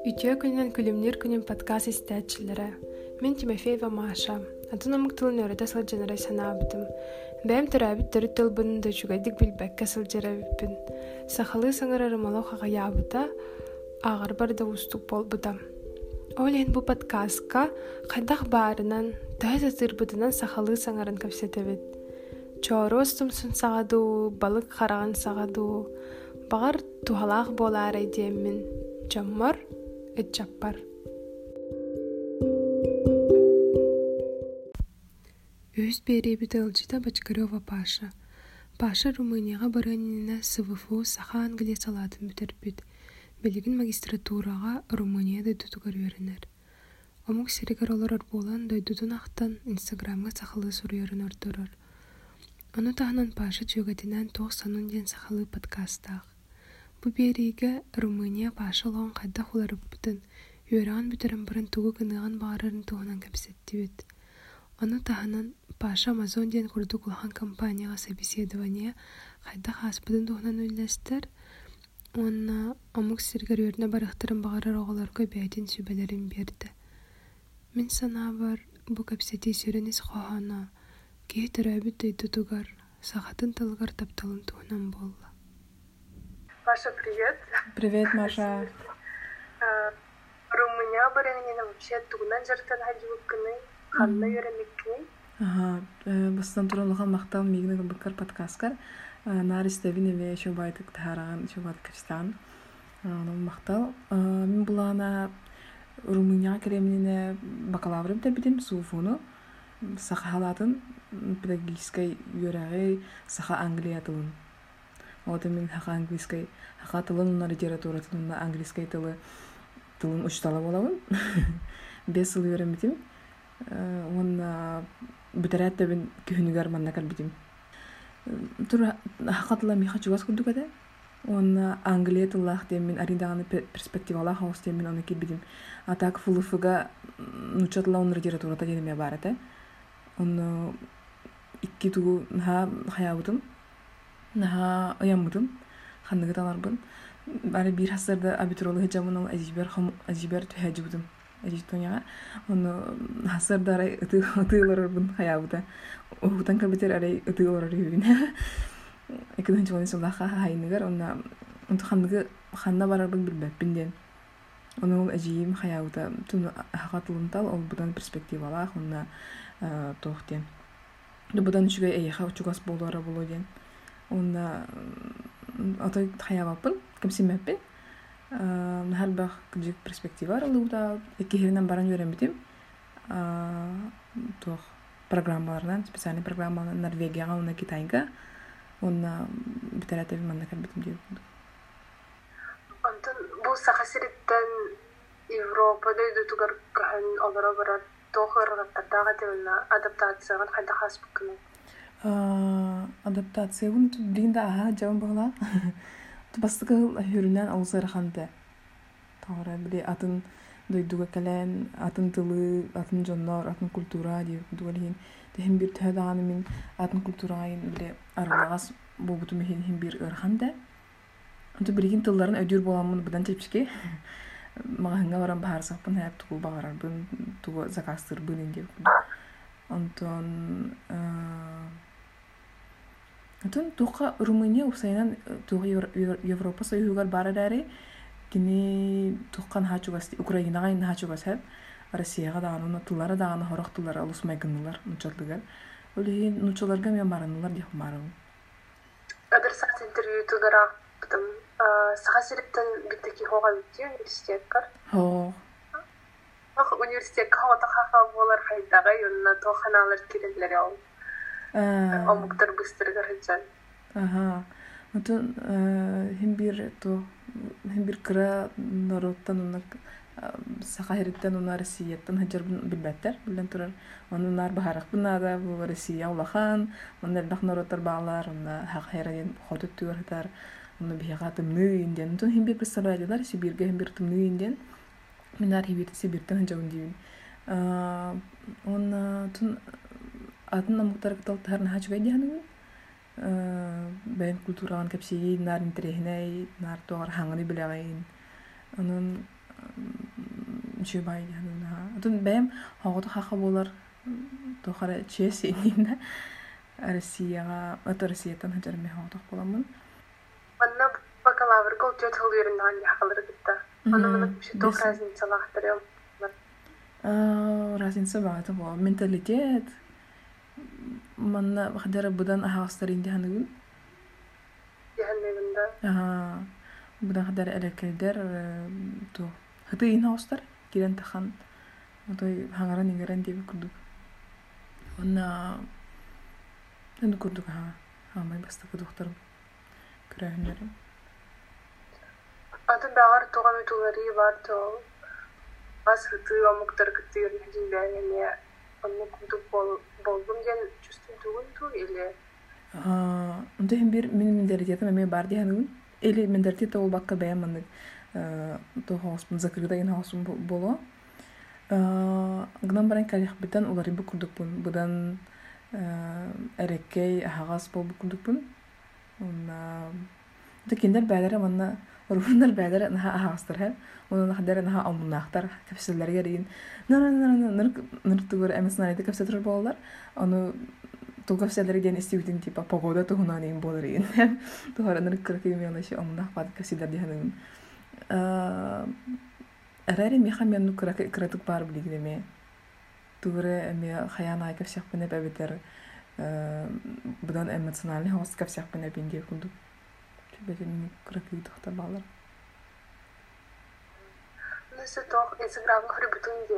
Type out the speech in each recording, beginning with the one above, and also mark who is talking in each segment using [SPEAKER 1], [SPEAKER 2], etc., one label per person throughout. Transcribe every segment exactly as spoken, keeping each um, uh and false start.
[SPEAKER 1] Үтіе күнінен күлімнер күнін подкаст істәтчілері. Мен Тимофеева Маша. Атынамық тылын өреді сыл жанарай санабытым. Бәйім түрәбіт түрі тыл бұнынды жүгәдік білбәкке сыл жарабіппін. Сақалы саңыр арымалы қағая абыта, ағыр барда ұстық бол бұдам. Олен бұл подкастқа қайдақ барынан, тәйз атыр бұдынан сақалы саңырын көпсетебет. Чору ұстымсын сағаду, балық қараған сағаду, бағар тухалақ болар айдемін. Жаммар, этчаппар. Өз беребіті ылжыта Бочкарева Паша. Паша Румынияға баранына СВФУ саха Англия салатын бүтербіт. Белігін магистратураға Румынияда дұтығыр өрінер. Омық серігер олар болан дойдудun ақтан Инстаграмға сақалы сұрыерін өрдірір. Оны тағынан Паша жөгетінен тоқсанын ден сақалы подкастақ. Бу береге Румыния Паша лоғын қайда құларып бұтын, үйераған бүтерін бұрын туғы кынығын бағарырын туғынан кәпсетті бет. Оны тағынан Паша Амазон ден құрды құлған компанияға собеседования қайда қас бұдын туғынан өлістер, оны омық сергер өріне барықтырын бағарыр оғыларға бәйтін сөбелерін берді. Мен сана бар бұ кәпсеті сөрінес қоғана, кей түрәбіт дөйді тұғар, сағатын тылғар тапталын туғынан болды.
[SPEAKER 2] Маша, привет.
[SPEAKER 3] Привет, Маша.
[SPEAKER 2] Румыния баранина вообще тугунан жартан хаджибык кыны, ханна йөрәмек кыны.
[SPEAKER 3] Ага, бастан туралыган мактал мигне бакар подкасткар. Наристевине ве шобайтык тараган, шобат кырстан. Аны мактал. Мен булана Румыния кремнине бакалаврым да битим суфуну. Сахалатын педагогической йөрәгы саха Англия тылын. Вот мен хака английский, хака тылын на литература тылын на английский тылы тылын учтала болабын. Бес ыл үйренбитим. Он бүтерәт тебен күнүгәр маннакар битим. Тур хака тылы миха чугас курдук эде. Он Англия тыллах дем мен аридаганы перспективалах хаус дем мен аны кибидим. Атак фулуфуга нучатла он литература та деме бар эте. Он икки тугу ха хаябытым. Наха ояммытым, ханныгы таларбын. Бары бир хасырда абитуролы хеджамын ол әжибер әжибер түхәжібдім. Әжib тоняға. Оны хасырда арай ұтыыларырбын хаябыда. Оғытан кәбетер арай ұтыыларыр үйін. Екінің жоғын солаға хайыныгар. Оны ханныгы ханна барарбын білбәппінден. Оны ол әжиім хаябыда. Түн хақатылын тал, ол бұдан перспективалақ, оны тоқтен. Бұдан үшіге әйеға ұчуғас болуара болу ден. Он атой хаябаппын, кемсимеппин. Нахал бах күдік перспектива аралыуда экихеринен баран үйренбитим. Тух программаларынан, специальный программаларынан Норвегияға, оны Китайға. Оны битерәтеви манна кәлбитим дейіп.
[SPEAKER 2] Онтын бұл сақасыреттен Европада үйді туғар кәхін олара барар тоғыр ғаттардағы девілна адаптацияған қайда қас бүкіні?
[SPEAKER 3] Адаптация bunu bildiğinde aha cevap bağla. Bastık hürünen ağızları xandı. Tağıra bile atın duyduğu kalen, atın tılı, atın canlar, atın kultura diye kudulihin. Hem bir tühdanı min atın kulturayın bile aralağız bu butu mihin hem bir ırxandı. Onu bilgin tılların ödür bolanmını budan tepşiki. Mağahınga varan bahar sapın hep tuğul bağırar bın, tuğu zakastır bın indi. Ondan Антон туха Румыния усайнан туха Европа союзгар барадаре кини тухкан хачугас Украинага ин хачугас хеп Россияга даганы туллары даганы хорох туллары алусмай гыннылар нучатлыгар. Оле нучаларга мен баранылар деп барам.
[SPEAKER 2] Адресат интервью тудара потом сахасириптен биттеки хога битти университеткар.
[SPEAKER 3] Хо.
[SPEAKER 2] Ах университет хата хаха болар хайдага юнна тоханалар кирелер ял. Омуктар быстыргар хеджан.
[SPEAKER 3] Ага. Антон hem bir to hem bir kıra narottan onak sahiritten onar Rusiyadan hajar bilbetler bilen turar. Onlar baharak bunada bu Rusiya ulahan, onlar dak narotlar bağlar, onlar hak herayen hodut tuyor hatar. Onlar bihaga tımnıyinden. Антон hem bir pısaraylar Sibirge hem bir tımnıyinden. Minar hibir Sibirten hajawun diyin. Onlar tun Атын намуктар кытал тарна хачугай дияны. Бәйін культураған кәпсеге нар интерехінай, нар тоғар хаңыны білағайын. Onun Şu bay yani ha. Atın benim hağıdı haqa bolar toxara çeşininde Россияга, ата Россиядан хаjarme hağıdı bolamın.
[SPEAKER 2] Anna bakalavr gol jet hılıyırından yaxalır gitti. Onu bunu bir şey toh razniца lahtırıyor.
[SPEAKER 3] Разница багата бо менталитет. Манна хадара будан ахастар инде ханыгын.
[SPEAKER 2] Яһаннегинде.
[SPEAKER 3] Ага. Будан хадара элекелдер то хытыйын хастар кирен тахан. Отой хаңаран ингерен деп күрдүк. Онна энд күрдүк ха. Хамай бастыкы доктор көрәһүннәрем.
[SPEAKER 2] Аты багар туган ütülери бар то. Аз хыты амуктар кытыр хижинбәгәне. Онны күрдүк бол болдум ден чувствую түгүн ту или.
[SPEAKER 3] А, онда hem bir min mенталитетим эме бар дигәнүн. Или менталитет ол бакка бәяманы. Э, то хаспын закрыда ин хаспын боло. Э, гынан баран калих битен улары бу күрдүк бун. Будан э, эреккей хагас бол бу күрдүк бун. Онна да киндер бәләре манна рухнар бәләре наха хагастыр һәм. Onun hadere naha ammunaqtar kapsellerge deyin. Nara nara nara nara tugur emesna ide kapsetler bollar. Onu tu kapselleri den istiutin tipa pagoda tu huna nin bollerin. Tu har nara kırkı mi ona şey ammunaq pat kapseller dihanın. Arari mi xam yannu kırkı kırtık bar biligine mi. Tuğre mi xayana kapsyak bene bebeter. Budan emosyonalni havas kapsyak bene bindi kundu. Çünkü mi kırkı tahta bağlar.
[SPEAKER 2] Nese toch Instagram hari betul dia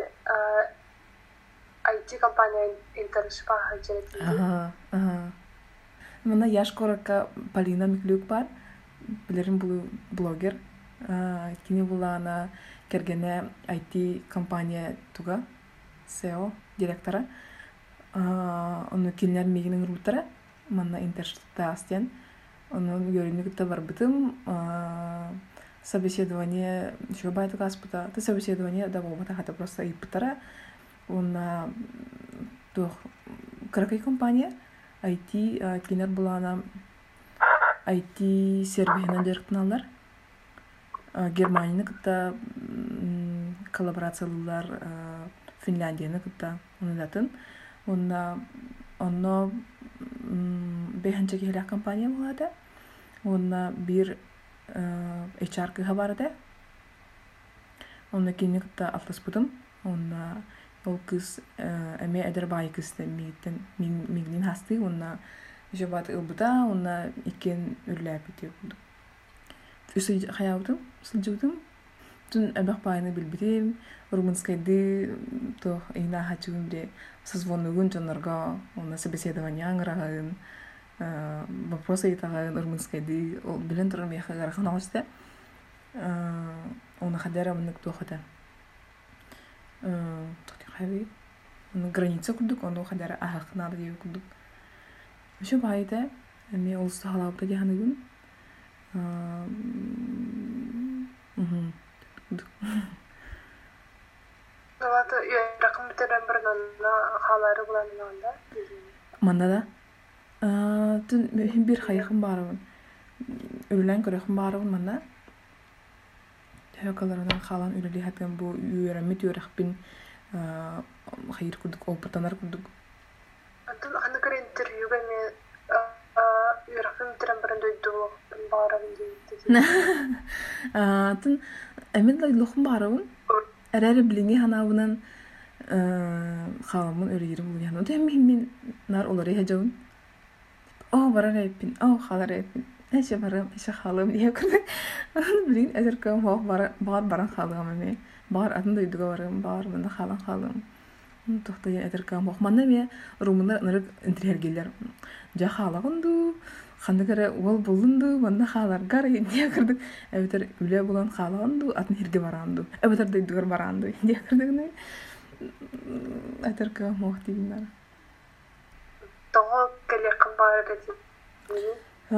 [SPEAKER 2] I T компания интернет хажет.
[SPEAKER 3] Ага, ага. Мына яш коракка Полина Миклюк бар. Билерим бул блогер. Кини булана кергене I T компания туга S E O директора. Onu кинер мигинин рутара. Мына интернетта астен. Onun görünükte var битим. Собеседование, еще байт гаспыта, ты собеседование да болбата хата просто и пытара. Он то кракай компания I T кинер была она I T сервисинен директорлар. Германияны кытта коллаборациялар Финляндияны кытта унадатын. Онна онно бехенче киле компания булады. Онна бир H R кыга барды. Онна кине кытта атлас бутым. Онна ол кыз эме эдер бай кызды мигиттен мигнин хасты. Онна жабат ылбыта, онна икен үрләп бите булды. Үсү хаябытым, сылжыбытым. Тун эбак байны билбитим. Румынскайды то ина хачугун бире созвонугун жонорго, онна собеседование аңырагын. Вопросы айтаган румынскайды ол билен турам яха гарахан агысты. Оны хадара мынык тохата. Тохти хаби. Оны граница кудук, оны хадара ахакнар деп кудук. Ошо байда эми олусту халабыта жаныгын. Мм.
[SPEAKER 2] Навата ракым битерен бир нанна халары булан нанда.
[SPEAKER 3] Манда да Tün bir hayıqım barabın. Ürülen körəxim barabın manda. Hökalarından xalan ürüli həpən bu üyərəmit üyərəxbin xayır kurduk, opatanar kurduk.
[SPEAKER 2] Antın anı kır intervyu bəni üyərəxim bitiren birin döydü bu barabın deyildi.
[SPEAKER 3] Tün əmin laylıqım barabın. Ərəri bilini hanabının xalamın ürüyeri buluyan. O da həmin nar oları həcavın. Oh bara repin, oh xalar repin. Eşe barım, eşe xalım diye kurduk. Bilin ezerkam hoq bara bar baran xalım eme. Bar adın da yuduga barım, bar mında xalan xalım. Toxtayan ezerkam hoq. Manna me rumuna nırık intriher geller. Ja xalağındu, xandıkara ol bulundu, manna xalar gar diye kurduk. Ebeter üle bulan xalağındu, atın hirge barandu. Ebeter da yudugar barandu diye kurduk ne. Ezerkam hoq diyinler.
[SPEAKER 2] Toho kelekam barada dedi.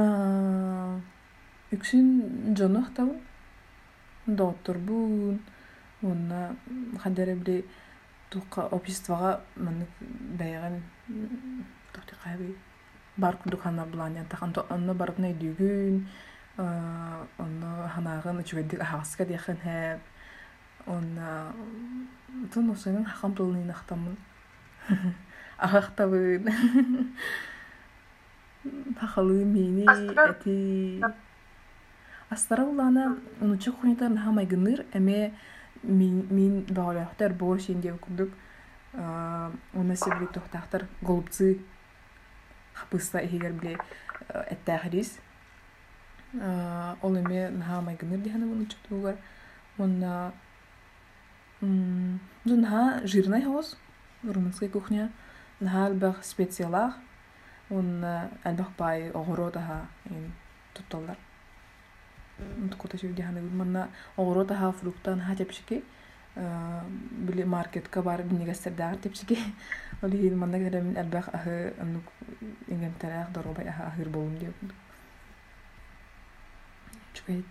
[SPEAKER 3] Үксүн жонох табын. Доктор бун. Онна хадere бир тука обществага мен бәяган тохти кайбы бар кудукана булан янтахан то онна барытна дүгүн онна ханагын үчүгөдүк ахаска дехен хеп онна тун усунун хакам тылын ахтамын. Ахахтабын. Хахалы мени эти астара улана унучу хунитар нахамай гыныр эме мин мин багалахтар бош инде кудук а уна себе тохтахтар голубцы хапыста егер биле эттахрис а ол эме нахамай гыныр дихана унучу тугар уна м дунха жирный хос румынская кухня нахалбах специалах он албах бай огородага ин тутталар кута шивдихана манна огородага фруктан хатепшики били маркетка бар бинигастердагар тепшики олихин манна гера мин албах ахы анук ингем тарах доробай аха ахыр болум деп чукайт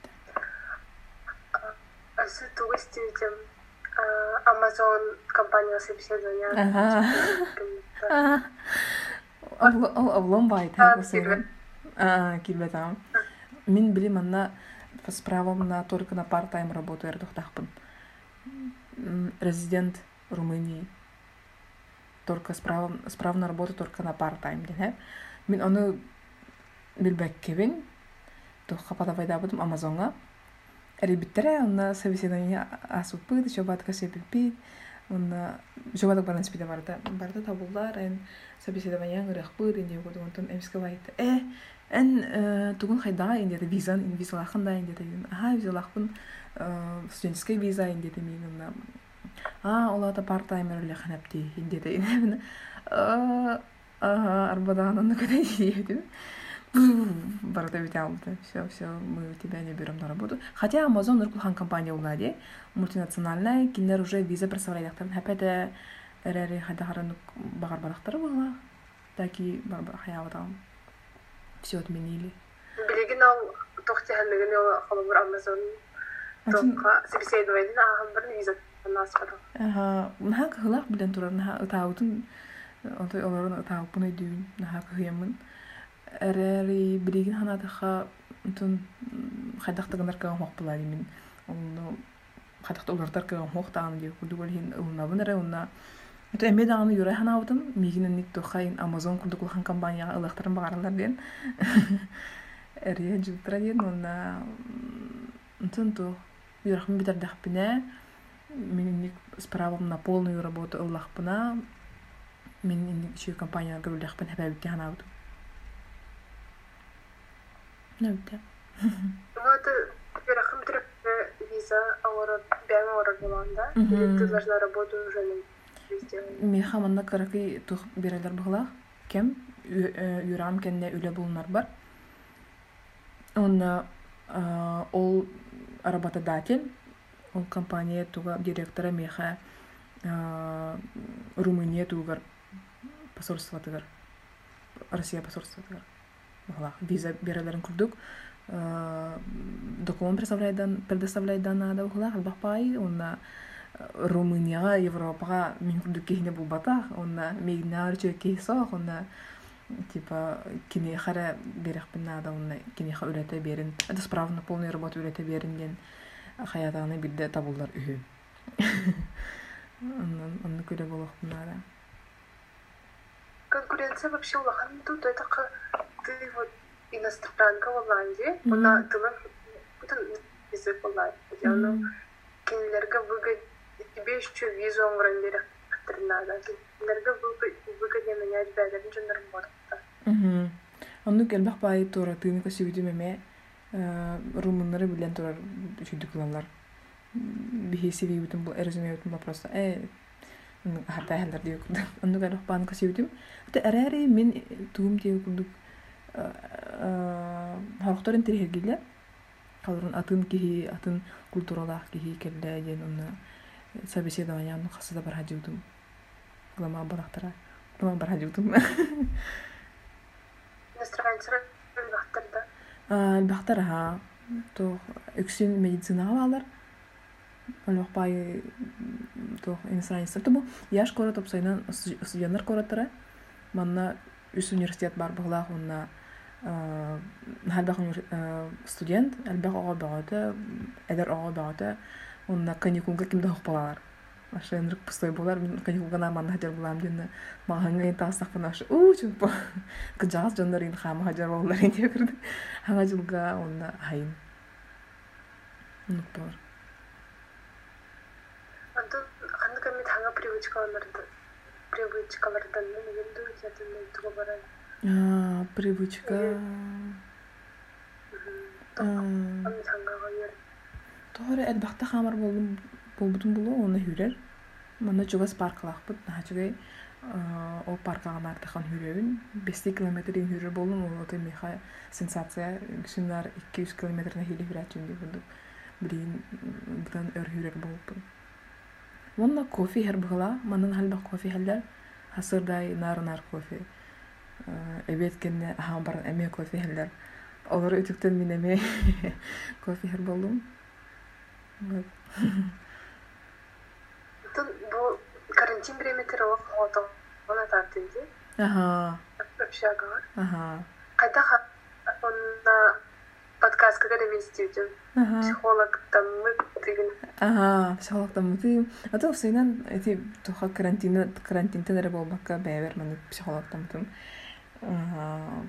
[SPEAKER 2] асы тугыстим Amazon компания собеседования.
[SPEAKER 3] Ага. Ол облом бай так вот. А, килбе там. Мин били манна с правом на только на part-time работу эрдохтахпын. Резидент Румынии. Только с правом с правом на работу только на part-time, да? Мин оны билбеккебин. То хапата вайда будем Амазонга. Ребятера, он собеседование асупы, еще батка сепипи, он еще баток баран спида барта, барта табулар, эн собеседование грехпыр, инде году он тон эмскавайт. Э, эн тугун хайда, инде виза, ин виза лаханда, инде тагин, ага, виза лахпын, студенческая виза, инде тагин, а, олата part-timer леханапти, инде тагин, а, ага, арбадан, он наконец едет. Барата биталды. Все, все, мы тебя не берем на работу. Хотя Amazon ныркулхан компания улади, мультинациональная, кинер уже виза представляйдактарын. Хапета эрэри хайдахарын багар барахтары была. Таки барбар хаяватам. Все отменили.
[SPEAKER 2] Билеген ал тохтиханныгын ол халабыр Amazon тоққа собеседование ахам бір виза насфады.
[SPEAKER 3] Ага, нахак хылах билен турар, наха ытаутын, онтой оларын ытаупын өйдүйін, нахак хыямын. Эрэри билеген ханатаха тун хайдахтагындар каган хоқ булари мин. Оны хайдахта олардар каган хоқ таган деп кулдугол хин улнабын эре онна. Это эме даганы юрай ханаутын мигинен ник тохайн Amazon кулдугол хан компанияга ылыктарын багаралар ден. Эре жуттра ден онна тун то юрахмын битердахпине мен ник с правом на полную работу ыллахпына мен ник еще компанияга гөрүлдахпын хабабитке ханаутын. Ну да.
[SPEAKER 2] Вот теперь хмтреп виза авора бяма авора буланда. Ты должна работать уже везде.
[SPEAKER 3] Мен хаманна караки тух берелер бугла. Кем юрам кенне үле булнар бар. Он ол работодатель, он компания туга директора меха Румыния тугар посольство тугар. Россия посольство тугар. Виза берелерин курдук, документ предоставляет данада ухлах, албахпай, он Румынияга, Европага мен курдук кихне булбата, он мигнар чекисох, он типа кине хара берех пинада, он кине ха үлете берин, это справно полную работу үлете берин ден хаятаны бидде табулдар үһү. Он күрө болох пинада.
[SPEAKER 2] Конкуренция вообще улахан тут это ты вот иностранка в Голландии, она тылын язык Голландии, она кинелерге выгодно, тебе еще визу он берег надо, кинелерге выгоднее менять бәлерін жын работа.
[SPEAKER 3] Анну келбақ бай тора тыны косибити меме румыннары билен тора чүйдік кылалар. Бихи сиви битин бұл эрзиме битин вопроса. Э, харта хәлдер дейі күрдік. Анну келбақ баны косибитим. Өте әрәри мен туғым дейі күрдік. Харықтарын терегеле, қалырын атын кихи, атын культуралақ кихи келле ден оны собеседованияны қасыда бар хадиудым. Глама барақтара, глама бар хадиудым.
[SPEAKER 2] Иностранцыр әлбақтырда?
[SPEAKER 3] Әлбақтар, ха. Тоқ, үксін медицинаға алар. Әлбақ бай тоқ иностранцыр. Тобу, яш корат опсайнан студенттар кораттары. Манна үс университет бар бұғылақ, онна әлбақ студент, әлбақ оға бағаты, әдір оға бағаты, онна каникулга кимде хопалар. Ашенрик пустой болар, мен каникулга наман хажар булам динне. Магаңга тасак фанаш. У чупа. Кыжас жонларын хама хажар болар инде кирди. Хага жылга онна хайын. Унуктор.
[SPEAKER 2] Антон ханды ками ханга привычкаларды привычкалардан ненду ятын туга барай.
[SPEAKER 3] А, привычка.
[SPEAKER 2] Ам хангага ер.
[SPEAKER 3] Тоғыры әлбақта қамар болбудun болу, оны хүрер. Мана жугас паркалақпыт, нахачыгай ол паркаға нартақан хүрерін. бес километрин хүрер болуын, ол оты меха сенсация. Кішінлар iki yüz километрна хили хүрәтчін деп бұды. Білейін бұдан өр хүрер болуп. Онна кофе хер бұғыла, манан халбақ кофе хәлдер. Хасырдай нар-нар кофе. Эбет кенне ахан баран әме кофе хәлдер. Олар өтіктен мен әме кофе хер болуым.
[SPEAKER 2] Тут бу карантин времетер ок хото она тартынды.
[SPEAKER 3] Ага.
[SPEAKER 2] Общага.
[SPEAKER 3] Ага.
[SPEAKER 2] Кайта он на подкаст когда мен студент. Психолог там мы деген.
[SPEAKER 3] Ага, психолог там мы. А то всегда эти тоха карантин карантин тенер болбакка бәвер мен психолог там там. Ага.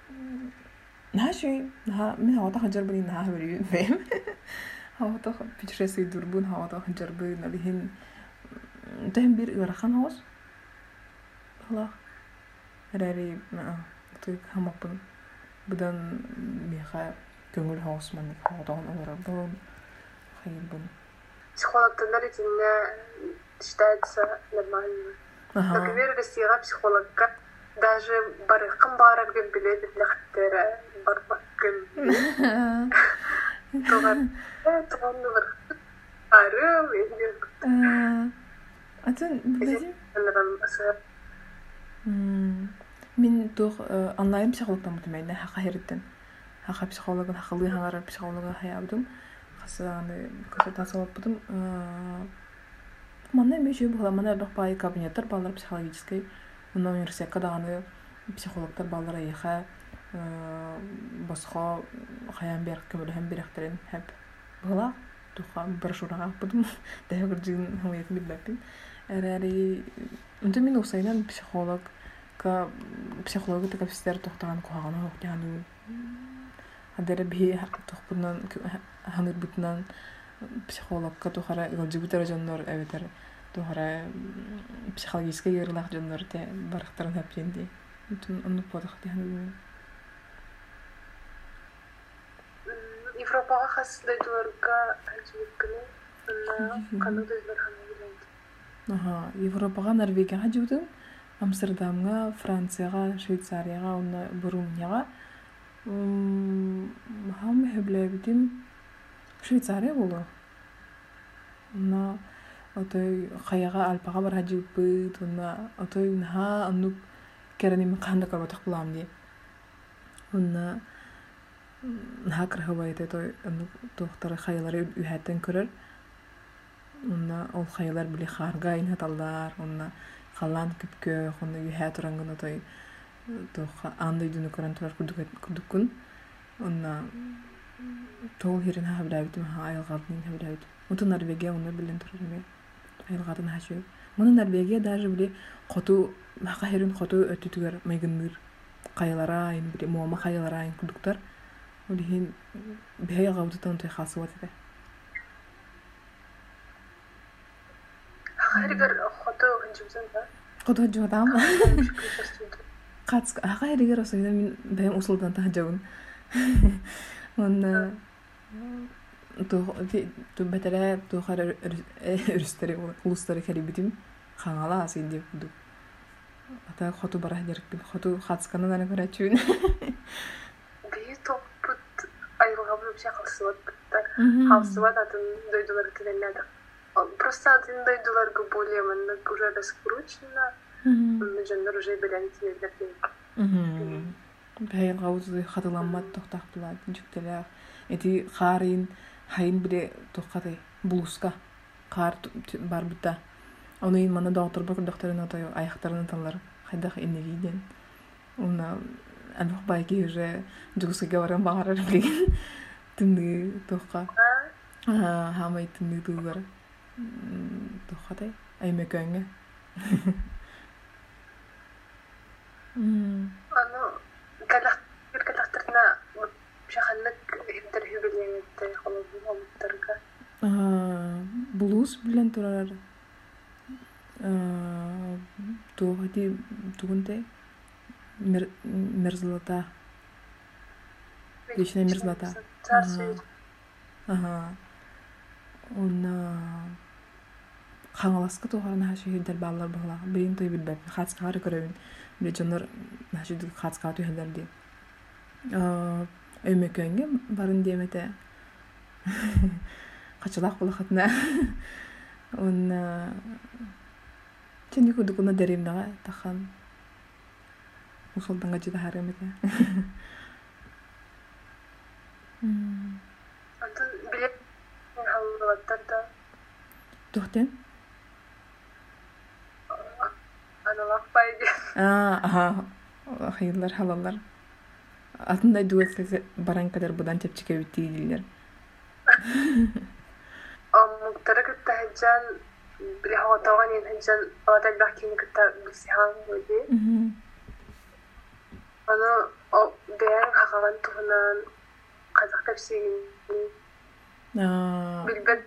[SPEAKER 3] Наши, на мен хата хажар бни на хаври фем. Хата путешествие дурбун хата хажар бни налихин تهم بير ورخان هوس الله راري ما طيب هم بن بدن ميخا كنقول هوس من خاطون أو ربون خير بن
[SPEAKER 2] психолог тенерит не считается нормально. Например, растира психолога даже барыкым барак деп билет лехтер барбакым. Тоган тоган бар. Арым инде.
[SPEAKER 3] Атын биледи? Мен тох онлайн психологтан мутмайна хака херден. Хака психологын хакылы хаңар психологы хаябдым. Хасаны консультация алыппытым. Мана мешө була мана бакпай кабинеттер балдар психологический. Мына университетка даганы психологтар балдар айха басха хаян бер көмөлөм беректерин хеп. Була туха бир шурага будум. Дагы жин хамыйт билбеппин. Эрери үнтө мен усайнан психолог ка психологы така фистер тохтаган куаганы хокяну адер би тохпунан ханыр бутнан психологка тухара илжибутер жоннор эветер тухара психологический йырлах жоннор те барыктарын хапженди үнтүн ону подох дияну
[SPEAKER 2] Европага хасдайдыларга ажибыккыны на канадалар ханагыланды.
[SPEAKER 3] Ага, Европага, Норвегияга жибдым. Амстердамга, Францияга, Швейцарияга, уна Бурунияга. Хам хеблебдим Швейцария болду. Уна отой хаяга Альпага бар жиббыт, уна отой наха анук кереним канда карбатак булам ди. Уна наха крахабайты той анук тохтары хаялары үһәттен көрөр. Онна ол хайылар биле харга инаталдар, онна халан күпкө, онна юһә турангын той тоха андай дүнү көрөн турар кудукун. Онна тол хирин хабдабит ма айылгадын хабдабит. Онтон Норвегия онна билен турар эме. Айылгадын хашып. Муну Норвегия даже биле коту мака хирин коту өтүтүгөр майгынныр. Кайылара ин биле мома кайылара ин кудуктар. Олихин бей гавдытан той хасыбат эте.
[SPEAKER 2] Хайригер хото ханжымсан да.
[SPEAKER 3] Хото жодам. Кац хайригер осойда мен бем усулдан тажабын. Он то то бетере то хар өрстери улустары карибитим хаңала асин деп буду. Ата хото бара деркпин. Хото хацканан аны көрөчүн.
[SPEAKER 2] Би топпут айылга булып чакылсыбат. Халсыбат атын дойдулар киреллер. Просто один дойдуларга более манна уже раскручено. Мы же уже белен тилерден.
[SPEAKER 3] Бәйін ғауызы қатыламат тоқтақ бұлады, жүктелер. Эти қарин, хайын біле тоққатай, бұлысқа, қар бар бұтта. Оны ең мана доғытыр бұр доқтарын отай аяқтарын талар, қайдақ енегейден. Оны әлбақ байки уже жүгісіге баран бағарар білген. Түнді тоққа. Аа хамайтын нэгдүгээр тухатай аймагэнгэ. Мм.
[SPEAKER 2] Ано галах галахтарна шаханнак интервьюлеңетте холобуомтарга.
[SPEAKER 3] Аа блуз билэн турар. Аа тугати тугунте мер мерзлата. Вечная мерзлота. Ага. Уна хангаласка тухарна хашиһидер баллар багла. Бирин той билбеп хацкары көрөбүн. Бежонор хашиды хацкаты хәлдерди. Аа өмөкөнгө барын демете. Качалак булахатна. Уна чени кудукуна деримнага тахан. Усолданга жида харамете. Мм.
[SPEAKER 2] Антон билет халлаттарда
[SPEAKER 3] Тухтен?
[SPEAKER 2] аналак пайды.
[SPEAKER 3] Аа, аха. Хайылар халалар. Атындай дуэтлесе баран кадар будан чепчике битти дилер.
[SPEAKER 2] Амуктара кытта хаджан биле хаватаган ен хаджан атай бахкини кытта бисихан wedi.
[SPEAKER 3] Мм.
[SPEAKER 2] Аны о бээн хагаган тухунан казак тапсигин
[SPEAKER 3] Аа.
[SPEAKER 2] билбет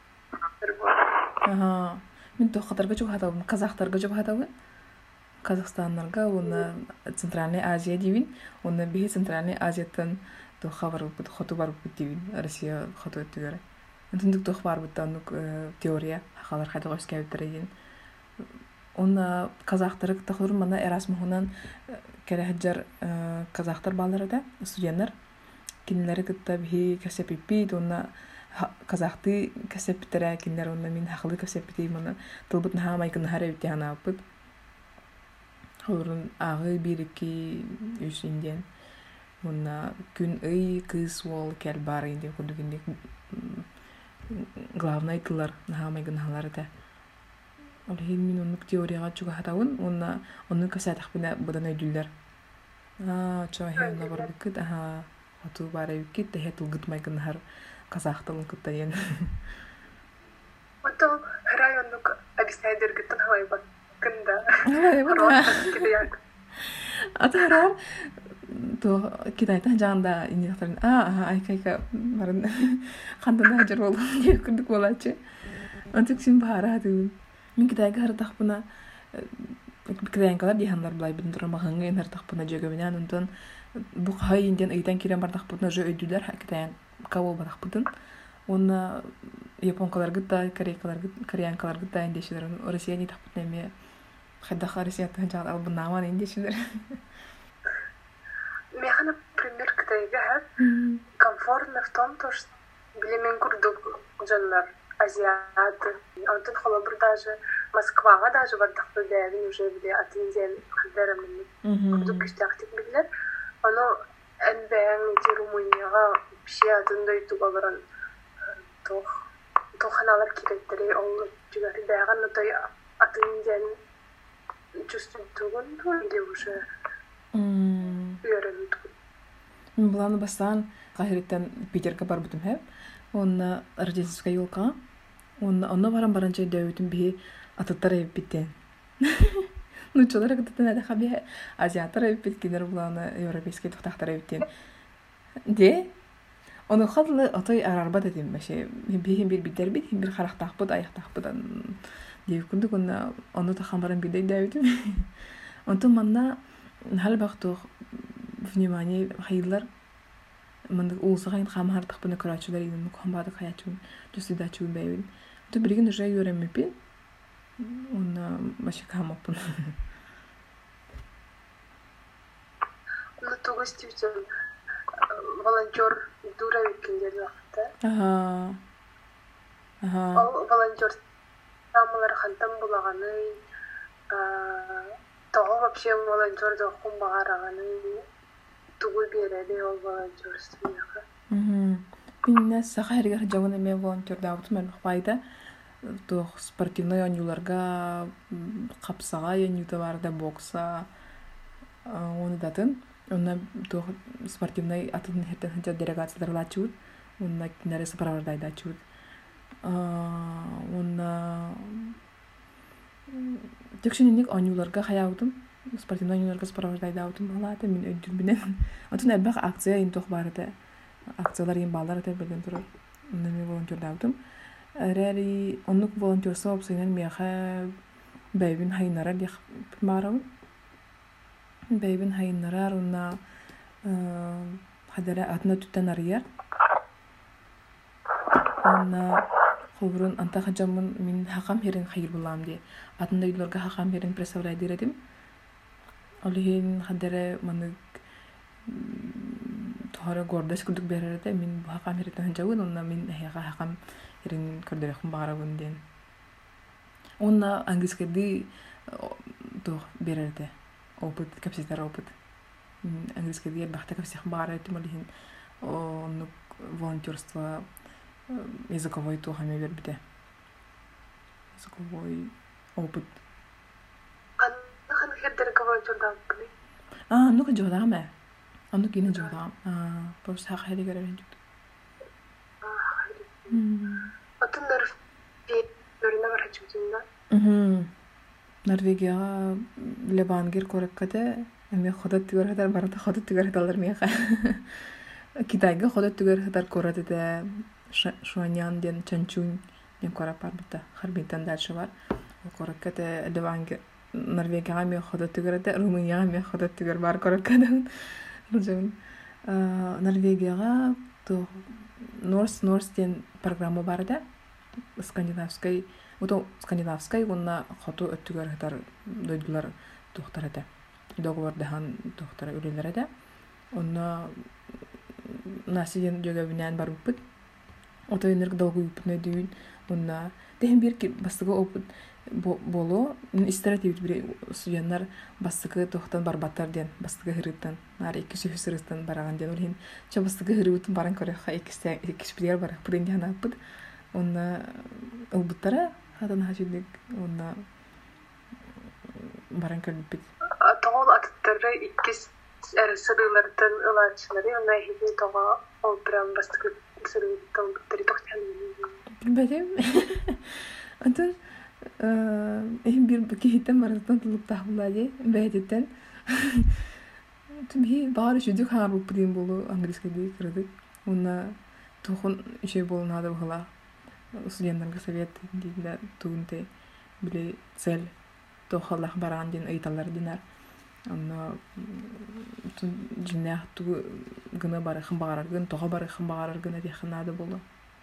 [SPEAKER 3] Аха. Мен тохатарга жок хатабын, казактарга жок хатабын. Казахстаннарга уна Центральная Азия дивин, уна бихи Центральная Азиятан то хабар бут хоту бар бут дивин, Россия хоту өттүгөр. Антындык тох бар бут анук теория хакалар хада госкабыттырын. Уна казактар тохур мана Erasmus хунан керехжар казактар баллары да студенттер кинлери кытта бихи касепипи уна казахты касептера кинлер уна мин хакылы касепити мана тылбыт нахамай кын харабити ханапыт. Хорун ағы бирики үсинден уна күн ый кыз вол кел бар инде кудугинде главный тылар нахамай кын халарда. Ол хин мин онук теорияга чуга хатавын уна онун касатах бина будан өйдүллер. Аа, чо хевна бар бикит аха оту бар бикит те хетул гытмай кын хар казахтын кыттайын.
[SPEAKER 2] Ото райондук объясняйдер гыттан хавай бакында.
[SPEAKER 3] Ай, бана.
[SPEAKER 2] Кидаяк.
[SPEAKER 3] Атарар то китайта жанда инектен аа айкайка барын канданда хажар болду деп күндүк болачы. Антык син бара дим. Мен китайга хартахпына китайгалар дихандар булай бидин турамагыңга ен хартахпына жөгөбүнөн онтон бу хай инден ыйтан кирен бардахпына жö өйдүлөр китайын кабыл бардахпытын. Оны японкалар гыта, корейкалар гыта, кореянкалар гыта индешилер. Россия не тахпытна эме хайдаха Россия таханжаган албынаман индешилер.
[SPEAKER 2] Меха, например, китайга комфортно в том, то, что билемен курдук жандар азиаты. Антон холобур даже Москвага даже бардахпы дәвин уже биле атинзен хаддарамын. Курдук киштактик билер. Оно энбээн ти Румынияга биши атындай туга баран тох тоханалар киреттери ол жүгәри бәган той атинзен чувствует то или уже үйренет.
[SPEAKER 3] Мен буланы бастан Кахиреттен Питерге бар бутум хеп. Он Рождественская елка. Он онно баран баранча дөйтүн би атыттар эппиттен. Ну чолар кыттан ада хаби азиаттар эппит кинер буланы европейский тохтактар эппиттен. Де оны хадлы атай арарба дедим баше. Бихим бир биттер бит, бир характакпыт, аяктакпыдан. Деп күндүк оны оны тахан баран бидей дөйтүн. Онтон манна хал бактык внимание хайылар мындык улсагын камартык буны көрачулар инен комбады хаячун жүсүдачун бейбин. То бирген уже юремепи. Он машикамапын.
[SPEAKER 2] Ну то гостивчен волонтер дура викендер вакытта.
[SPEAKER 3] Ага. Ага.
[SPEAKER 2] Ол волонтер самалар хантам булаганы того вообще волонтер да хумбагараганы тугу береди ол волонтерствояга.
[SPEAKER 3] Мм. Минне сахарга жагын эме волонтер да утман пайда. То спортивный оюларга капсага оюта барда бокса оны датын. Онна то спортивный атын хеттен делегациялар лачут. Онна кинере сапарларда чут. онна текшинник онюларга хаяудым спортивный онюларга сопровождайдаудым балата мен өйдүрбүнен отун элбак акция ин тох барды акциялар ин балдар те белен туруп мен волонтердаудым рери оннук волонтерство опсайнан меха бэйбин хайнара дих марам бэйбин хайнара онна хадара атна туттан арыяр онна холбурун анта хаджамын мин хакам херин хайыр булам ди атында юларга хакам херин представлять диредим олихин хадара маны тохара гордость кудук берерде мин бу хакам херин жабын онна мин хага хакам херин көрдөрөкүм багарабын ден онна английскийди то берерде опыт капситар опыт английскийди бахта капсих багарабын олихин онну волонтерство языковой то хаме бербите языковой опыт
[SPEAKER 2] анхан хедер волонтердам кли
[SPEAKER 3] а ну-ка жодаме ану кине жодам а просто хак хеди görevin çıktı
[SPEAKER 2] отундар берне бар хачымда
[SPEAKER 3] мм Норвегияга лебангер кораккате эме ходот түгөр хатар барата ходот түгөр хаталар меха Китайга ходот түгөр хатар коратыда Шуанян ден Чанчунь ден корап бар бит. Харбинтан дальше бар. Кораккате лебангер Норвегияга ме ходот түгөрдө Румынияга ме ходот түгөр бар кораккадан. Ружун Норвегияга то Норс Норс ден программа бар да. Скандинавской ото скандинавской онна хото өттүгөр хатар дойдулар доктор эте. Договор дахан доктор үлелер эте. Онна насиен жөгөбүнөн бар бут. Ото энерг долгу үпүнө дүйүн. Онна техин бирки бастыгы опыт боло истратив бир студенттер бастыгы тохтан барбаттар ден бастыгы хырыттан нар эки шефисырыстан бараган ден олин ча бастыгы хырыттан баран көрөкка экисте экиспидер бар. Биринде хана бут. Онна ылбыттара хатан хажыдык онна баран көрбүт.
[SPEAKER 2] Тоғол аттары иккис сырылардан ылачылары онна хиди тоға ол прям бастыгы сырылардан биттери тоқтан.
[SPEAKER 3] Билбедим. Антон эм бир бекиттен бараттан тулуп тахулады бәйдеттен. Тумхи бары жүдүк харып бирин болу английскийди кирдик. Онна тохон ишей болунады була. Студенттерге совет дейдилер туунте биле цель тохаллах баран ден ыйталар динар. Анна жинах ту гына бары хымбарар гын тога бары хымбарар гына дехнады болду.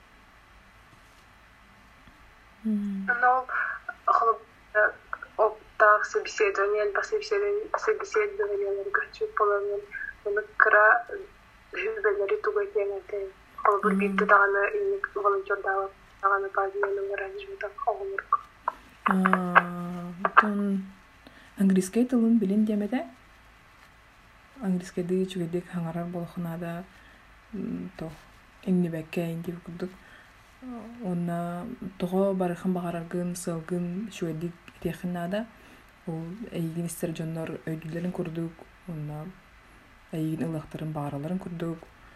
[SPEAKER 2] Но холоп оптах собеседование, собеседование, собеседование гачу половин. Он кра жюбелери тугайтенете. Холоп битте дагана инник волонтердава дагана базиянын аранжмента холмурк.
[SPEAKER 3] А, тон английский тилин билин демеде. Английскийди чүгедек хаңарар болохунада то эмнебекке инди курдук. Онна тога барыхын багараргын сылгын чүгедек техинада ол эйгин истер жоннор өйдүлөрүн курдук. Онна эйгин ылыктарын баараларын курдук.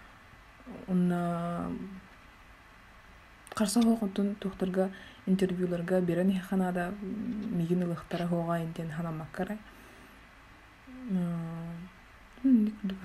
[SPEAKER 3] Онна карса хокутун тохторга интервьюларга берен ханада мигин ылыктары хога интен ханамаккара. М, никуда.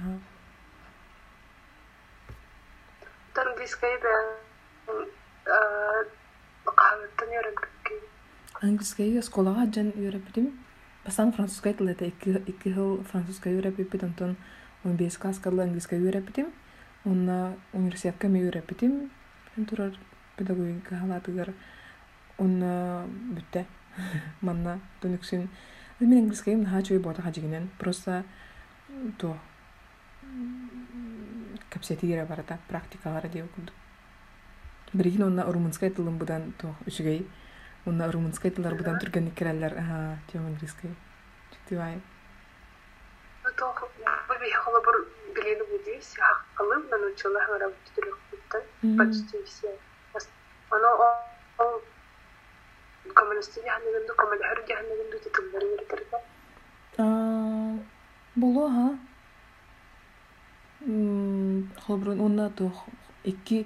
[SPEAKER 2] Английский бен э кахваттан үйрөнгөккү.
[SPEAKER 3] Английский школага жан үйрөптүм. Басан французский тилде эки жыл французский үйрөпүп, антон он беш класска английский үйрөптүм. Онна университетке ме үйрөптүм. Турар педагогика халатыгар. Онна бүтте. Манна төнүксүн. Мен английскийм хачой бота хажигинен. Просто то капсетире барата практикалары деп окудум. Бирин онна румынский тилин будан то үчүгей. Онна румынский тилдар будан түргөн керелер. Ага, тем английский. Читивай.
[SPEAKER 2] То би холобор билени будис, хакылым мен учулах работать легко. Почти все. Оно ол коммунистин яхнагынды коммунистер яхнагынды титулдары бертерге.
[SPEAKER 3] А, боло ха. М, холбрун онна то эки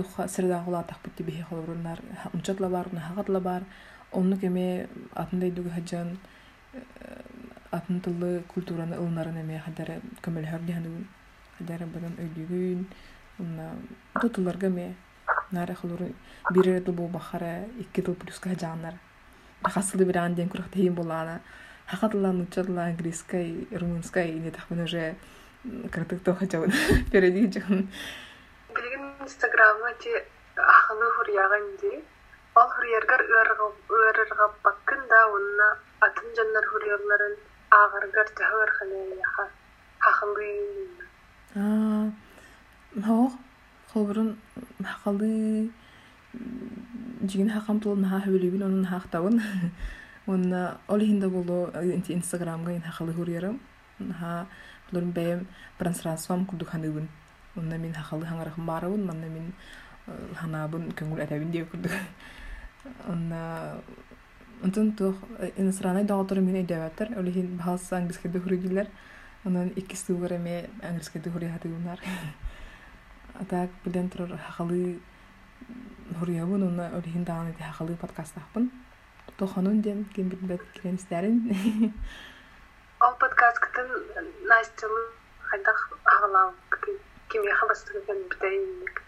[SPEAKER 3] туха сырда гулатах битти бихи холурунар унчатла бар нахатла бар онну кеме атындай дуга хаджан атын тылы культураны ылнарын эме хадары көмөл хөрдиһанын хадары барын өйдүгүн онна тутуларга ме нары холуру бир тыл бу бахара икки тыл плюска хаджаннар хасылы бир анден курак тейин болана хакатлан учатла английской румынской не так мы уже картык то хотел перейди жан
[SPEAKER 2] билген инстаграмга те аханы хурьяган ди ал хурьяргар ырга ырга баккында онна атын жаннар хурьярларын агаргар тахыр ханея хахылы
[SPEAKER 3] а хо хобрун хакылы жигин хакам тулун ха хөлүбүн онун хактабын онна олихинда боло инстаграмга ин хакылы хурьярым ха хлорун бэм трансляциям кудуханыбын онна мен хакылы хаңарахым барыбын манна мен ханабын көңүл атабын деп курдук онна онтон тох инстаграмда дагы мен айдабаттар олихин бахас английский хурьялар онан икки стугара ме английский хурьятыгынар атак билен турар хакылы хурьябын онна олихин дагы хакылы подкасттахпын тоханун ден ким бит кирен истерин
[SPEAKER 2] ал подкасттын Настялы хайдах агалам ким я хабастыгын битейник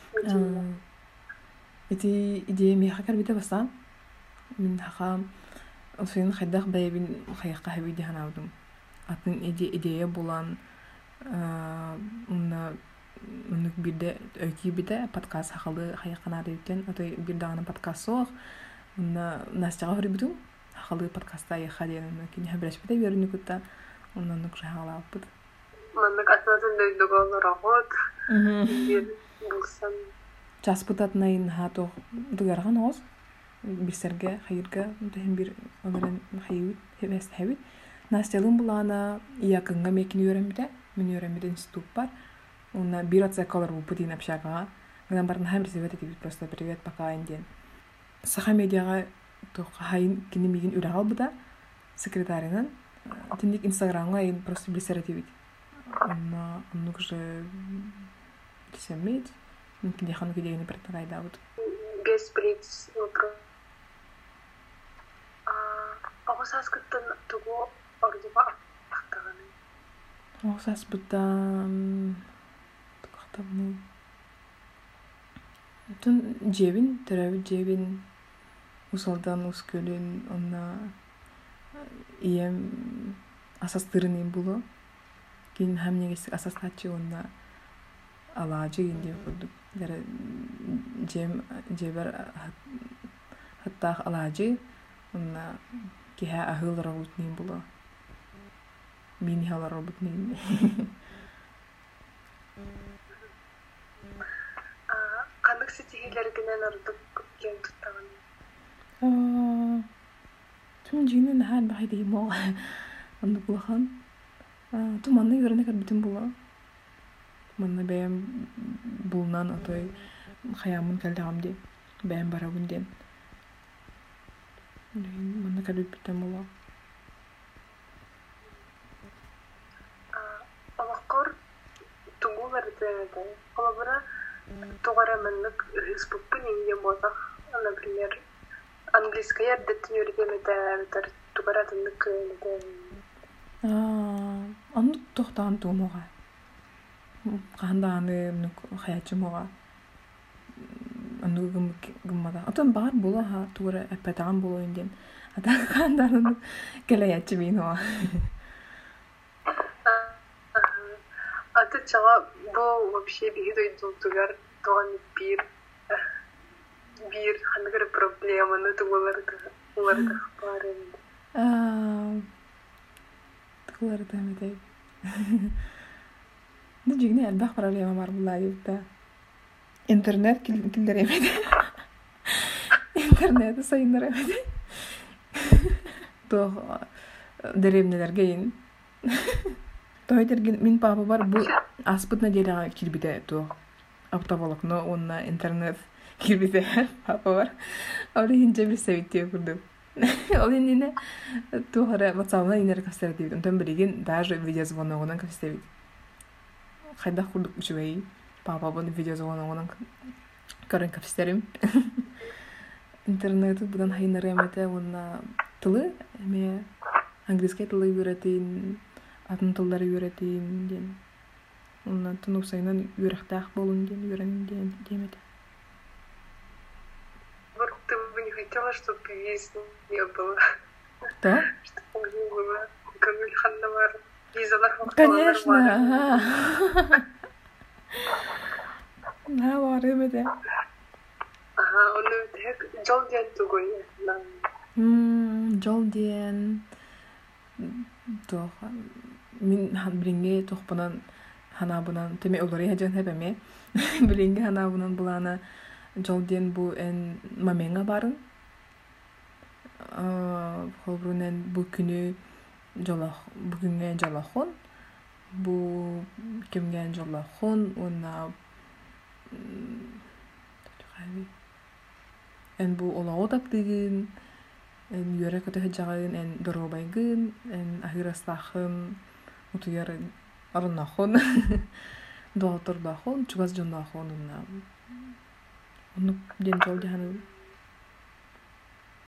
[SPEAKER 3] эти идея ми хакар бита басан мен хакам осын хайдах бэбин хайка хабиди ханаудум атын идея булан унна унук бирде өйки бита подкаст хакалы хайкана дейтен атай бир дагы подкаст сох унна Настяга хурибитум хакалы подкастта я хаден кини хабраш бита берни кутта уннан нук хагалаппыт
[SPEAKER 2] маннык атнатын дөйдөгөн рахот бир булсан
[SPEAKER 3] часпытатнайын хато дугарган оз бисерге хайырга дем бир оларен хайыт хебес хебит Настялын булана якынга мекин өремде мен өремде институт бар онна бир атса колор бу путин общага гынан барын хамир себет этип просто привет пока инден саха медиага то хайын кини мигин үрагал буда секретаринан тиндик инстаграмга ин просто бисеретибит онна оннук же десемет мумкин яхан кидегени предлагайда вот
[SPEAKER 2] без приц вопрос а огосас кыттын тугу ордуга актаганы
[SPEAKER 3] огосас бутан тукактабны тун жебин терабит жебин усалдан ускөлүн онна ием асастырынын було кин хамнегес асастачы онна алажы инде курдук дер жем жебер хатта алажы онна киха ахыл работнин було мини хала работнин
[SPEAKER 2] а кандык сетигилергинен ордук кен туттаган
[SPEAKER 3] а тун жинен хан байди мо онду булхан а ту манны көрөнө бүтүн було манна бэм булнан отой хаямын калдагамди бэм барабынден манна калып бүтүн було
[SPEAKER 2] а алакор тугуларды колобра тугара маннык республика нинге бозах например английский яддеттин өргемете тугара тындык
[SPEAKER 3] а аны тохтан тумога канданы нук хаячымога аны гым гыммада атан бар була ха тугара апатан було инден ата канданы келеячы мино
[SPEAKER 2] аты чага бу вообще бигидой тугар туган бир бир хангыр проблеманы тугуларды уларды барын
[SPEAKER 3] а тугуларды медей ну жигне албах проблема бар була юкта интернет килдер эмеди интернет сайындар эмеди то деревнелерге ин тойдерген мин папа бар бу аспытна жерага кирбите то автоволокно онна интернет кирбите папа бар ал инже бир севитте курду ал ине то хара ватсапна инер кастырдып онтон бириген даже видеозвоногунан кастырдып хайда курдук учубай папа бун видеозвоногунан көрөн капстерим. Интернеты будан хайнары эмете онна тылы эме английский тылы үйрөтейин, атын тылдары үйрөтейин ден. Онна тынусайнан үйрөктак болун ден, үйрөнүн ден демете.
[SPEAKER 2] Вот ты бы не хотела, чтобы виз не было.
[SPEAKER 3] Да?
[SPEAKER 2] Чтобы не было. Камиль Ханнавар. Визалар
[SPEAKER 3] Конечно. На бар эмете.
[SPEAKER 2] Ага, он так жол ден тугой.
[SPEAKER 3] М, жол ден. Тох. Мин хан бринге тохпанан ханабынан теме олары хажан хепеме. Бринге ханабынан булана жол ден бу эн маменга барын. А, холбрунен бу күнү жолах бүгүнгө жолахон. Бу кимге жолахон, онна эн бу олоо таптыгын, эн юрек өтө хажагын, эн доробайгын, эн ахирастахын, утуяр арнахон, дотордахон, чугаз жондахон, онна. Onu den jol jahanu